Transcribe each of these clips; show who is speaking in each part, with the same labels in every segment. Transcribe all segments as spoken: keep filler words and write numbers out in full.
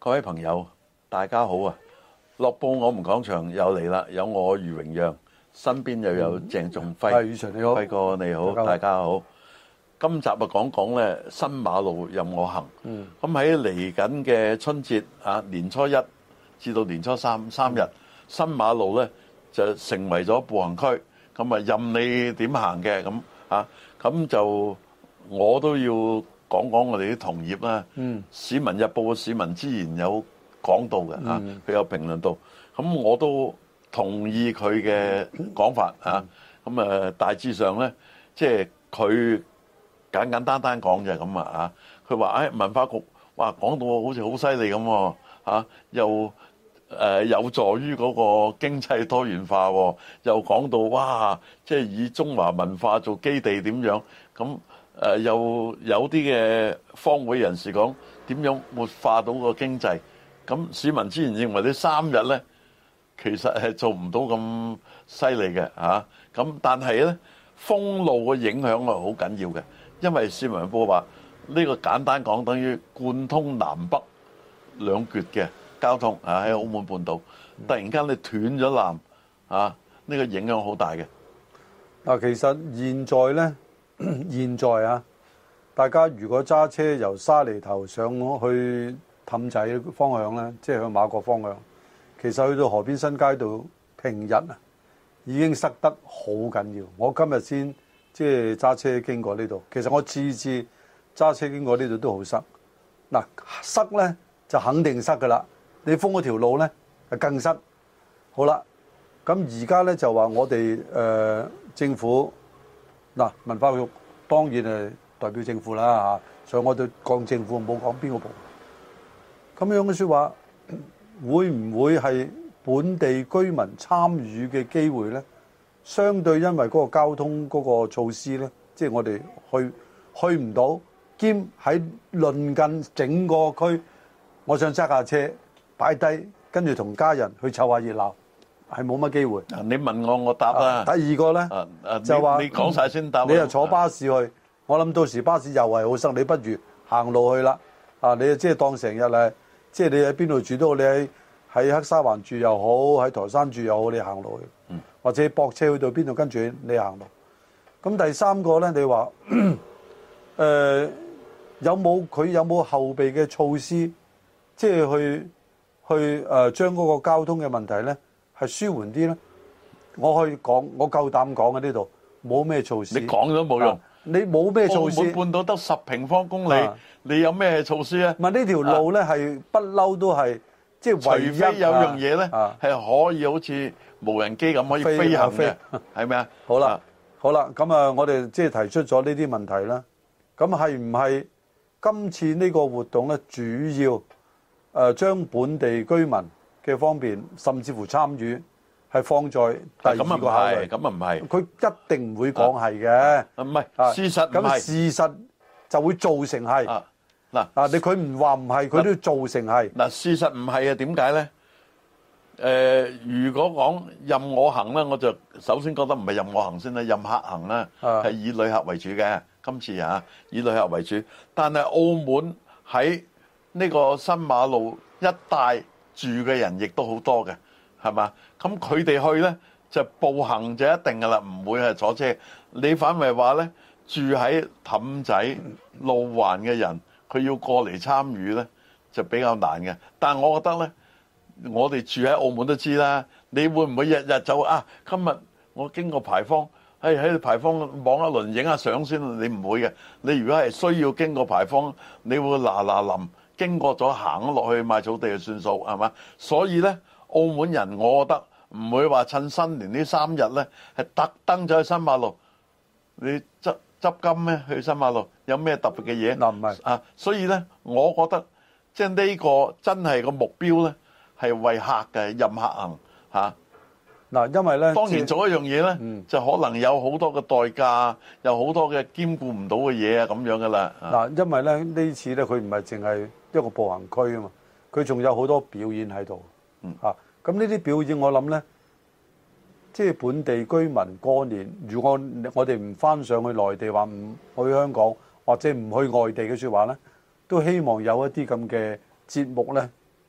Speaker 1: 各位朋友，大家好啊！樂報我們講場又嚟啦，有我余榮讓，身邊又有鄭仲輝。
Speaker 2: 係，余 Sir 你好，
Speaker 1: 輝哥你好，大家好。今集啊講講咧新馬路任我行。嗯。咁喺嚟緊嘅春節啊，年初一至到年初三三日，嗯、新馬路咧就成為咗步行區，咁啊任你點行嘅咁啊，咁就我都要講講我哋啲同業啦。嗯。市民日報嘅市民之言有講到嘅啊，佢有評論到，咁我都同意佢嘅講法啊。咁啊大致上咧，即係佢簡簡單單講就係咁啊。佢話誒文化局哇講到好似好犀利咁喎嚇，又誒有助於嗰個經濟多元化喎，又講到哇即係以中華文化做基地點樣咁。誒又有啲嘅方會人士講點樣活化到個經濟，咁市民之前認為呢三日咧，其實係做唔到咁犀利嘅嚇，咁但係咧封路嘅影響係好緊要嘅，因為市民報話呢個簡單講等於貫通南北兩橛嘅交通啊，喺澳門半島突然間你斷咗纜啊，呢個影響好大嘅。
Speaker 2: 嗱，其實現在咧。現在啊，大家如果揸車由沙梨頭上去氹仔方向咧，即係去馬國方向，其實去到河邊新街道平日啊，已經塞得好緊要。我今日先即係揸車經過呢度，其實我次次揸車經過呢度都好塞。嗱，塞咧就肯定塞噶啦，你封嗰條路咧就更塞。好啦，咁而家咧就話我哋誒、呃、政府。嗱，文化局當然係代表政府啦嚇，所以我哋講政府，冇講邊個部。咁樣嘅説話，會唔會係本地居民參與嘅機會咧？相對因為嗰個交通嗰個措施咧，即係我哋去去唔到，兼喺鄰近整個區，我想揸架車擺低，跟住同家人去湊下熱鬧。係冇乜機會。
Speaker 1: 你問我，我答啦。
Speaker 2: 第二個咧，
Speaker 1: 啊啊、
Speaker 2: 就話
Speaker 1: 你講晒先答。
Speaker 2: 你又坐巴士去，啊、我諗到時巴士又係好塞，你不如行路去啦。啊，你即係當成日咧，即係你喺邊度住都好，你喺喺黑沙環住又好，喺台山住又好，你行路去。嗯。或者駁車去到邊度，跟住你行路。咁第三個咧，你話誒、呃、有冇佢有冇後備嘅措施，即係去去誒將嗰個交通嘅問題咧？係舒緩啲咧，我可以講，我夠膽講喺呢度，冇咩措施。
Speaker 1: 你講都冇用，
Speaker 2: 你冇咩措施。
Speaker 1: 澳門半島得十平方公里，你有咩措施啊？
Speaker 2: 唔係呢條路咧，係不嬲都係即係唯一。除非
Speaker 1: 有樣嘢咧，係可以好似無人機咁可以飛行嘅，係咪啊？
Speaker 2: 好啦，好啦，咁啊，我哋即係提出咗呢啲問題啦。咁係唔係今次呢個活動咧，主要誒將本地居民嘅方面，甚至乎參與係放在第二個考慮。
Speaker 1: 咁啊唔係，
Speaker 2: 佢一定唔會講係嘅。
Speaker 1: 唔係，事實唔係。
Speaker 2: 咁事實就會造成係。
Speaker 1: 嗱，
Speaker 2: 啊你佢唔話唔係，佢都要造成係。
Speaker 1: 嗱，事實唔係啊？點解咧？誒，如果講任我行咧，我就首先覺得唔係任我行先啦，任客行啦，係以旅客為主嘅。今次啊，以旅客為主，但係澳門喺呢個新馬路一帶住嘅人亦都好多嘅，係嘛？咁佢哋去呢，就步行就一定㗎啦，唔會係坐車。你反為話呢，住喺氹仔路環嘅人，佢要過嚟參與呢，就比較難嘅。但係我覺得呢，我哋住喺澳門都知啦，你會唔會日日就啊？今日我經過牌坊，喺喺牌坊望一輪影下相先，你唔會嘅。你如果係需要經過牌坊，你會嗱嗱臨。經過咗行咗落去買草地就算數，係嘛？所以咧，澳門人我覺得唔會話趁新年呢三日咧係特登走去新馬路，你執執金咩？去新馬路有咩特別嘅嘢？
Speaker 2: 嗱唔係
Speaker 1: 啊，所以咧，我覺得即係呢個真係個目標咧係為客嘅任客行嚇。嗱，
Speaker 2: 因為咧，
Speaker 1: 當然做一樣嘢咧，嗯、就可能有好多嘅代價，有好多嘅兼顧唔到嘅嘢啊，咁樣噶啦。
Speaker 2: 嗱，因為咧呢次咧佢唔係淨係一個步行區啊嘛，佢仲有好多表演喺度。嗯，嚇，咁呢啲表演我諗咧，即係本地居民過年，如果我哋唔翻上去內地，話唔去香港或者唔去外地嘅説話咧，都希望有一啲咁嘅節目咧，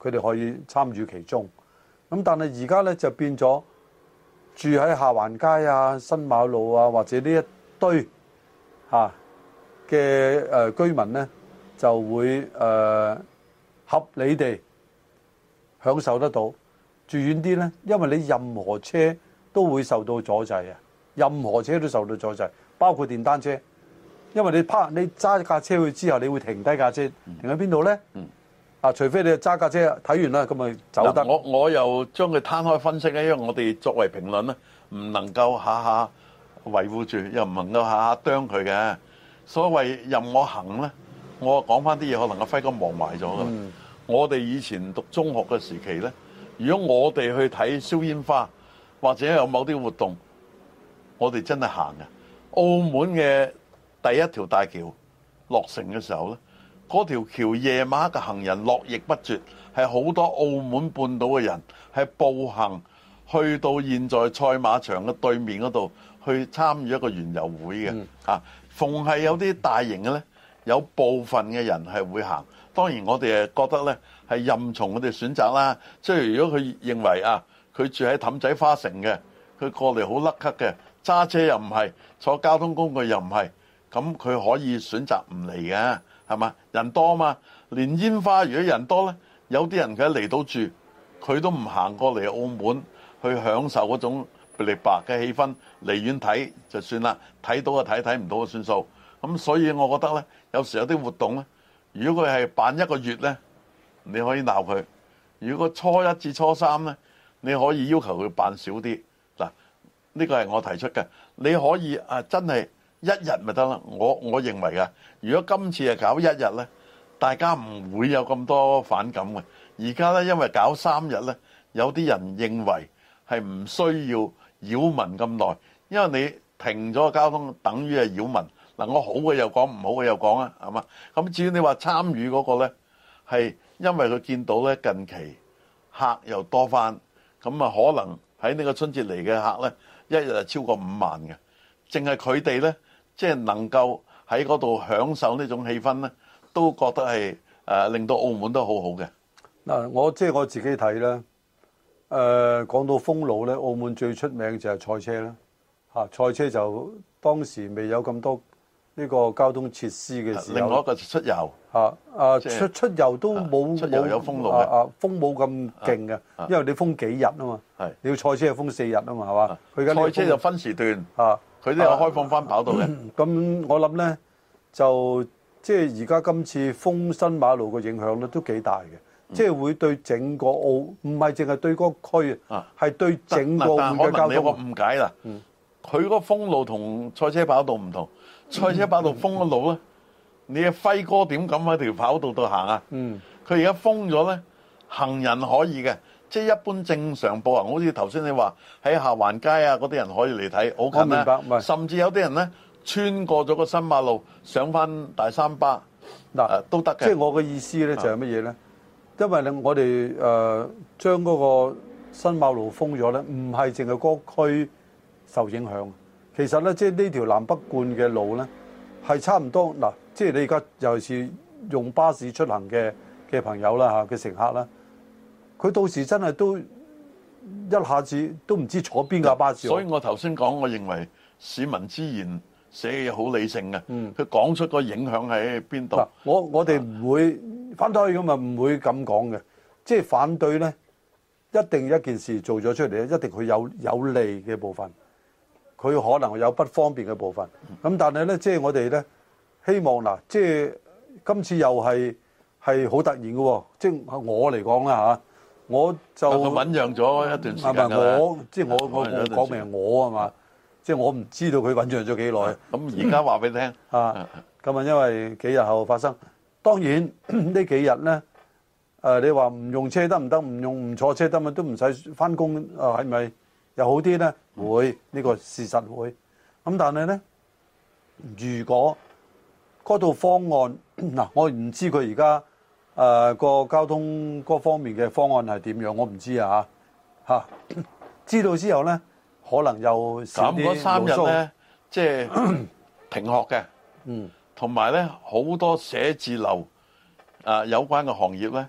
Speaker 2: 佢哋可以參與其中。咁但係而家咧就變咗住喺下環街啊、新馬路啊，或者呢一堆嚇嘅誒居民咧，就會誒、呃、合理地享受得到。住遠啲咧，因為你任何車都會受到阻滯啊，任何車都受到阻滯，包括電單車。因為你泊你揸架車去之後，你會停低架車，停喺邊度咧？嗯，啊，除非你揸架車睇完啦，咁咪走得。
Speaker 1: 我我又將佢攤開分析咧，因為我哋作為評論咧，唔能夠下下維護住，又唔能夠下下啄佢嘅。所謂任我行咧，我講翻啲嘢，可能阿輝哥忘埋咗噶。嗯、我哋以前讀中學嘅時期咧，如果我哋去睇燒煙花或者有某啲活動，我哋真係行嘅。澳門嘅第一條大橋落成嘅時候咧，嗰條橋夜晚嘅行人絡繹不絕，係好多澳門半島嘅人係步行去到現在賽馬場嘅對面嗰度去參與一個園遊會嘅。嗯、啊，逢係有啲大型嘅咧，有部分嘅人係會行。當然我哋誒覺得咧係任從佢哋選擇啦。即係如果佢認為啊，佢住喺氹仔花城嘅，佢過嚟好甩咳嘅，揸車又唔係，坐交通工具又唔係。咁佢可以選擇唔嚟嘅，係嘛？人多嘛，連煙花如果人多咧，有啲人佢嚟到住，佢都唔行過嚟澳門去享受嗰種噼里白嘅氣氛，離遠睇就算啦，睇到就睇，睇唔到就算數。咁所以我覺得咧，有時有啲活動咧，如果佢係辦一個月咧，你可以鬧佢；如果初一至初三咧，你可以要求佢辦少啲。嗱，呢個係我提出嘅，你可以啊，真係。一日咪得啦，我我認為啊，如果今次係搞一日呢，大家唔會有咁多反感嘅。而家呢，因為搞三日呢，有啲人認為係唔需要擾民咁耐，因為你停咗個交通，等於係擾民。嗱，我好嘅又講，唔好嘅又講啊，係嘛？咁至於你話參與嗰個呢，係因為佢見到呢近期客又多翻，咁啊可能喺呢個春節嚟嘅客呢，一日係超過五萬嘅，淨係佢哋呢。即係能夠喺嗰度享受呢種氣氛咧，都覺得係誒令到澳門都好好嘅。
Speaker 2: 嗱，我即係我自己睇啦。誒講到封路咧，澳門最出名就係賽車啦。嚇，賽車就當時未有咁多呢個交通設施嘅時候。另外一個出遊嚇啊，出出遊都冇
Speaker 1: 出遊有封路嘅。
Speaker 2: 啊，封冇咁勁嘅，因為你封幾日啊嘛。係你要賽車係封四日啊嘛，係嘛？佢而家
Speaker 1: 賽車就分時段
Speaker 2: 啊。
Speaker 1: 佢都有開放翻跑道嘅。
Speaker 2: 咁、啊、我諗咧，就即係而家今次封新馬路嘅影響咧，都幾大嘅。嗯、即係會對整個澳，唔係淨係對嗰個區啊，係對整個澳門嘅交通。但係可能你有個誤解啦。佢嗰個封路同賽車跑道唔同。賽車跑道封咗路咧，嗯、你阿輝哥點敢喺條跑道度行啊？嗯。佢而家封咗咧，行人可以嘅。即係一般正常步行，好似頭先你話喺下環街啊，嗰啲人可以嚟睇，好近啦。甚至有啲人咧穿過咗個新馬路上翻大三巴嗱、呃、都得嘅。即係我嘅意思咧就係乜嘢咧？因為咧我哋誒將嗰個新馬路封咗咧，唔係淨係嗰區受影響。其實咧，即係呢條南北貫嘅路咧係差唔多嗱。即係你而家尤其是用巴士出行嘅嘅朋友啦嚇嘅乘客啦。佢到時真係都一下子都唔知坐邊架巴士。所以我頭先講，我認為市民之言寫嘅嘢好理性嘅。嗯，佢講出個影響喺邊度？我我哋唔會反對咁啊，唔會咁講嘅。即係反對咧，一定一件事做咗出嚟咧，一定佢有有利嘅部分，佢可能有不方便嘅部分。咁但係咧，即係我哋咧希望嗱，即係今次又係係好突然嘅喎。即係我嚟講啦嚇。我就醞釀咗一段時間㗎。我即係我我我講明係我啊嘛，即係我唔知道佢醞釀咗幾耐。咁而家話俾你聽啊，咁啊，因為幾日後發生。當然呢幾日咧，誒你話唔用車得唔得？唔用唔坐車得咪都唔使翻工啊？係咪又好啲咧？會呢個事實會。咁但係咧，如果嗰套方案嗱，我唔知佢而家。誒、呃、個交通嗰方面嘅方案係點樣？我唔知啊嚇嚇。知道之後咧，可能又少啲。咁嗰三日咧，即係停學嘅。嗯。同埋咧，好多寫字樓啊、呃、有關嘅行業咧，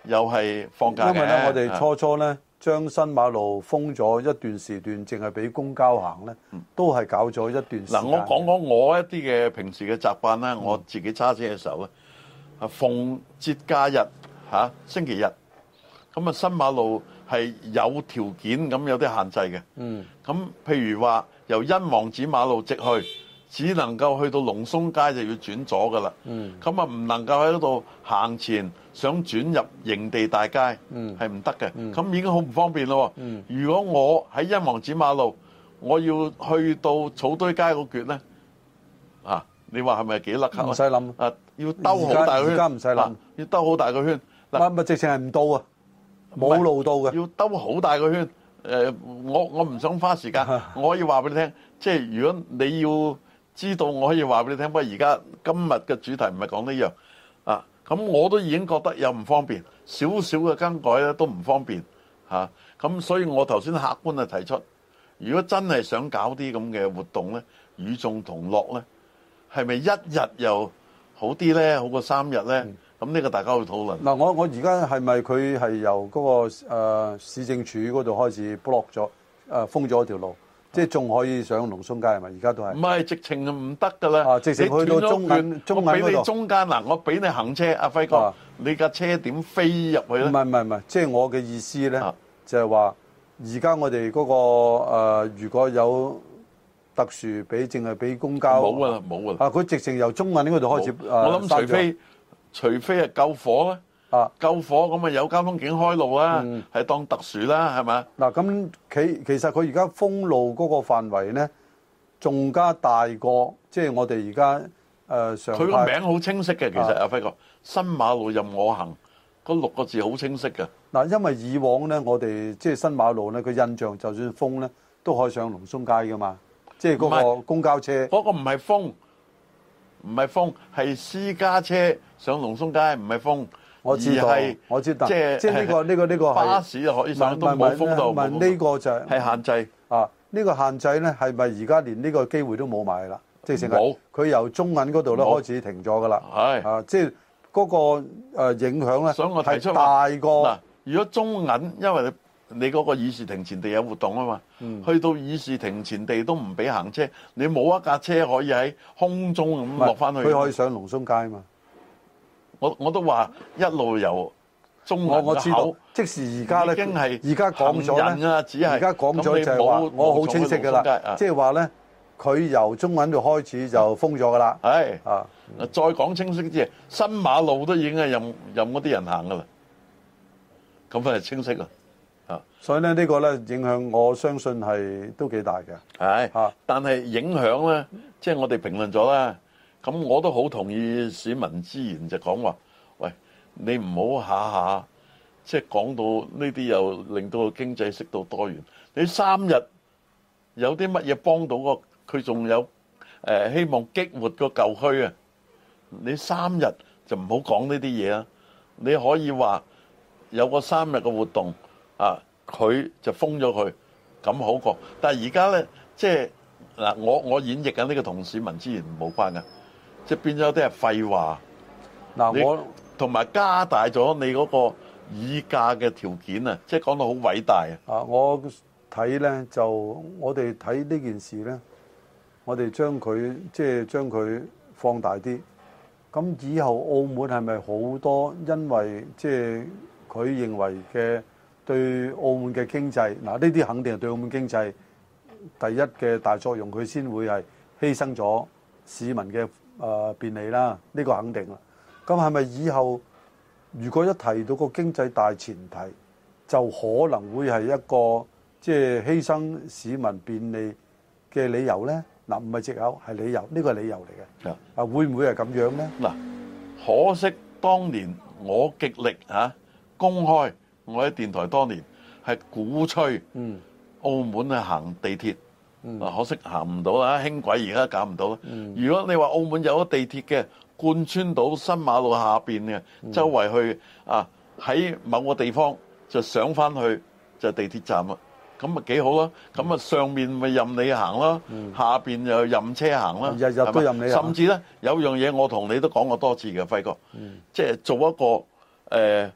Speaker 1: 又係放假嘅。
Speaker 2: 因為咧，我哋初初咧將新馬路封咗一段時段，淨係俾公交行咧，都係搞咗一段時間。嗱，
Speaker 1: 我講講我一啲嘅平時嘅習慣啦，我自己揸車嘅時候咧，啊逢節假日嚇星期日，咁啊新馬路係有條件咁有啲限制嘅。嗯。咁譬如話由欣王寺馬路直去，只能夠去到龍松街就要轉左噶啦。嗯。咁啊唔能夠喺嗰度行前想轉入營地大街，係唔得嘅。咁、嗯、已經好唔方便咯。嗯。如果我喺欣王寺馬路，我要去到草堆街嗰橛咧，啊，你話係咪幾甩咳？
Speaker 2: 唔使諗。
Speaker 1: 啊，要兜好大個圈。而家唔使諗，要兜好大個圈。
Speaker 2: 嗱，咪直情係唔到啊，冇路到嘅。
Speaker 1: 要兜好大個圈。誒，我我唔想花時間，我可以話俾你聽，即係如果你要知道，我可以話俾你聽。不過而家今日嘅主題唔係講呢樣啊，咁我都已經覺得有唔方便，少少嘅更改咧都唔方便嚇。咁所以我頭先客觀啊提出，如果真係想搞啲咁嘅活動咧，與眾同樂咧，係咪一日又好啲咧？好過三日咧？咁呢個大家去討論。
Speaker 2: 嗱，我我而家係咪佢係由嗰個誒市政署嗰度開始 block 咗誒封咗條路，即係仲可以上龍松街係咪？而家都係。唔係，直情唔得㗎啦。啊，直情去到中銀中銀嗰度。我俾你中間嗱，我俾你行車，阿輝哥，你架車點飛入去咧？唔係唔係唔係，即係我嘅意思咧，就係話而家我哋嗰個誒，如果有特殊俾，淨係俾公交。冇㗎啦，冇㗎啦。啊，佢直情由中銀嗰度開始誒。我諗除非。除非係救火咧，啊救火咁啊有交通警開路啦，係、嗯、當特殊啦，係咪？嗱咁其其實佢而家封路嗰個範圍咧，仲加大過，即係我哋而家誒上。佢個名好清晰嘅，其實阿輝哥，新馬路任我行，嗰六個字好清晰嘅。嗱，因為以往咧，我哋即係新馬路咧，佢印象就算封咧，都可以上龍松街噶嘛，即係嗰個公交車。嗰、嗰個唔係封。唔係封，係私家車上龍松街，唔係封。我知道，我知道。即係即係呢個呢個呢個巴士可以上都冇封到。問呢個就係係限制啊！呢個限制咧係咪而家連呢個機會都冇埋啦？即係成日佢由中銀嗰度咧開始停咗噶啦。係啊，即係嗰個誒影響咧，所以我提出大過嗱。如果中銀因為你。你嗰個議事亭前地有活動啊嘛，嗯、去到議事亭前地都唔俾行車，你冇一架車可以喺空中咁落翻去。佢可以上龍松街啊嘛。我我都話一路由中銀嘅口，即使而家咧，已經係而家講咗咧，只係而家講咗就係話，我好清晰㗎啦，即係話咧，佢由中銀度開始就封咗㗎啦。係啊，再講清晰啲，新馬路都已經係任任嗰啲人行㗎啦，咁咪清晰啦。所以咧，呢個咧影響，我相信係都幾大嘅。係嚇，但係影響咧，即係我哋評論咗啦。咁我都好同意市民之言，就講話，喂，你唔好下下即係講到呢啲又令到個經濟適度多元。你三日有啲乜嘢幫到個佢，仲有誒希望激活個舊區啊？你三日就唔好講呢啲嘢啊！你可以話有個三日嘅活動。啊！佢就封咗佢，咁好過。但係而家咧，即係嗱，我我演繹緊呢個同市民之言冇關嘅，即係變咗有啲係廢話。嗱，我同埋加大咗你嗰個議價嘅條件啊，即係講到好偉大啊！啊，我睇咧就我哋睇呢件事咧，我哋將佢即係將佢放大啲。咁以後澳門係咪好多因為即係佢認為嘅？對澳門嘅經濟，嗱呢啲肯定係對澳門經濟第一嘅大作用，佢先會係犧牲咗市民嘅誒便利啦。呢個肯定啦。咁係咪以後如果一提到個經濟大前提，就可能會係一個即係犧牲市民便利嘅理由咧？嗱，唔係藉口，係理由，呢個係理由嚟嘅。啊，會唔會係咁樣咧？嗱，可惜當年我極力嚇公開。我喺電台多年係鼓吹澳門去行地鐵，嗯、可惜行唔到啦，輕軌而家搞唔到啦。嗯、如果你話澳門有咗地鐵嘅，貫穿到新馬路下邊嘅，嗯、周圍去啊喺某個地方就上翻去就地鐵站啦，咁咪幾好咯？咁啊上面咪任你行咯，嗯、下邊又任車行啦，日日都任你行。甚至咧有樣嘢我同你都講過多次嘅，輝哥，嗯、即係做一個誒。呃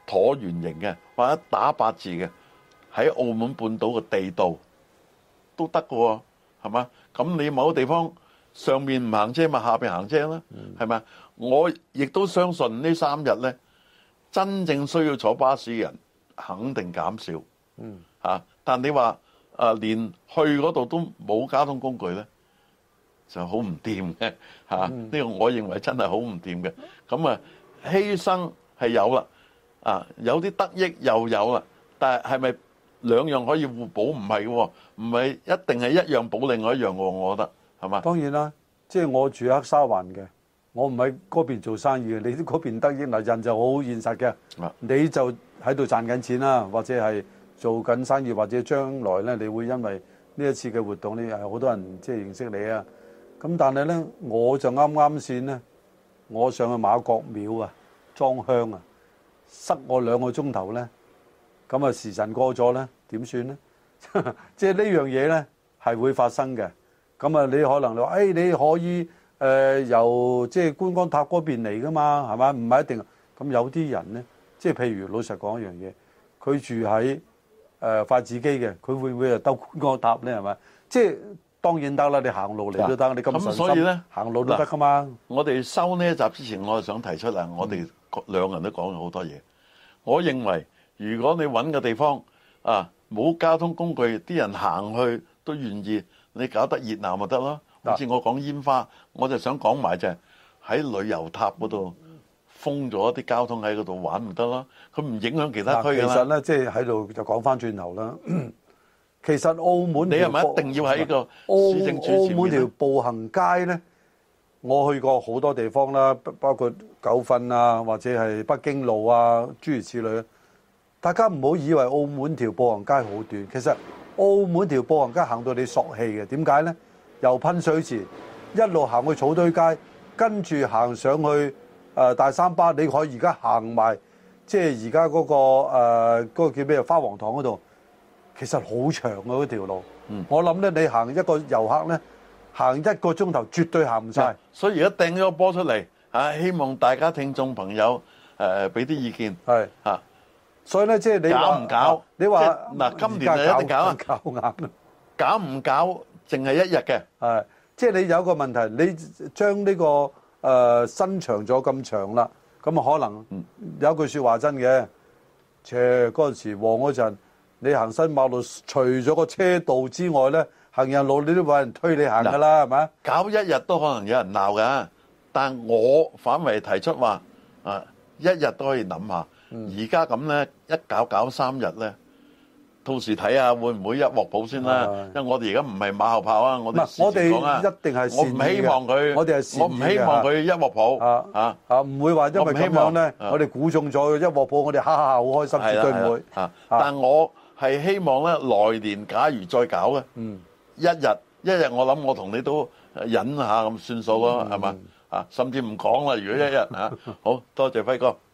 Speaker 1: 橢圓形嘅或者打八字嘅，喺澳門半島嘅地道都得嘅喎，係嘛？咁你某個地方上面唔行車，咪下邊行車啦，係咪？我亦都相信呢三日呢，真正需要坐巴士嘅人肯定減少。嗯，嚇！但你話啊，連去嗰度都冇交通工具呢，就好唔掂嘅嚇。呢個我認為真係好唔掂嘅。咁啊，犧牲係有啦，啊有啲得益又有啦，但係係咪兩樣可以互補？唔係嘅喎，唔係一定係一樣補另外一樣喎。我覺得係嘛？
Speaker 2: 當然啦，即係我住喺黑沙環嘅，我唔喺嗰邊做生意嘅，你嗰邊得益嗱，人就好現實嘅，你就喺度賺緊錢啦，或者係做緊生意，或者將來咧，你會因為呢一次嘅活動，你係好多人即係認識你啊。咁但係咧，我就啱啱先咧，我上去媽閣廟啊，裝香啊，塞我兩個鐘頭咧，咁啊時辰過咗咧，點算咧？即係呢樣嘢咧係會發生嘅。咁啊，你可能你話，誒你可以誒、呃、由即係觀光塔嗰邊嚟噶嘛，係咪？唔係一定。咁有啲人咧，即係譬如老實講一樣嘢，佢住喺誒筷子基嘅，佢會唔會啊兜觀光塔咧？係咪？即係當然得啦，你行路嚟都得，你咁順心行路都得噶嘛。
Speaker 1: 我哋收呢一集之前，我係想提出啊，我哋兩人都講咗好多嘢。我認為如果你揾個地方啊，冇交通工具，啲人行去都願意，你搞得熱鬧咪得咯。好似我講煙花，我就想講埋就係喺旅遊塔嗰度封咗啲交通喺嗰度玩咪得咯。佢唔影響其他區㗎啦。
Speaker 2: 其實咧，即係喺度就講翻轉頭啦。其實澳門
Speaker 1: 你係咪一定要喺個市政處前面？
Speaker 2: 澳門條步行街咧，我去過好多地方啦，包括九份啊，或者係北京路啊，諸如此類。大家唔好以為澳門條步行街好短，其實澳門條步行街行到你索氣嘅。點解咧？由噴水池一路行去草堆街，跟住行上去誒、呃、大三巴，你可以而家行埋，即係而家嗰個誒嗰、呃嗰個叫咩花王堂嗰度。其實好長嘅嗰條路，嗯、我諗咧，你行一個遊客咧，行一個鐘頭絕對行唔晒。
Speaker 1: 所以而家掟咗個波出嚟，啊，希望大家聽眾朋友誒俾啲意見。係嚇、啊，
Speaker 2: 所以咧，即係你
Speaker 1: 搞唔搞？
Speaker 2: 你話
Speaker 1: 嗱，今年就一定搞啊！
Speaker 2: 搞硬啦，
Speaker 1: 搞唔搞？淨係一日嘅。係，
Speaker 2: 即係你有一個問題，你將呢、這個誒、呃、伸長咗咁長啦，咁啊可能有一句説話真嘅，切嗰陣時旺嗰陣。你行新馬路，除咗個車道之外咧，行人路你都揾人推你行噶啦，係咪？
Speaker 1: 搞一日都可能有人鬧㗎，但我反為提出話啊，一日都可以諗下。而家咁咧，一搞搞三日咧，到時睇下會唔會一鑊泡先啦。因為我哋而家唔係馬後炮啊，我哋我哋
Speaker 2: 一定係
Speaker 1: 我唔希望佢，
Speaker 2: 我哋係
Speaker 1: 我唔希望佢一鑊泡啊啊
Speaker 2: 啊！唔會話因為咁樣咧，我哋估中咗一鑊泡，我哋哈哈好開心，絕對唔會
Speaker 1: 啊！但我係希望咧，來年假如再搞嘅，嗯，一日一日，我諗我同你都忍下咁算數咯，係嘛啊？甚至唔講啦，如果一日啊，好多謝輝哥。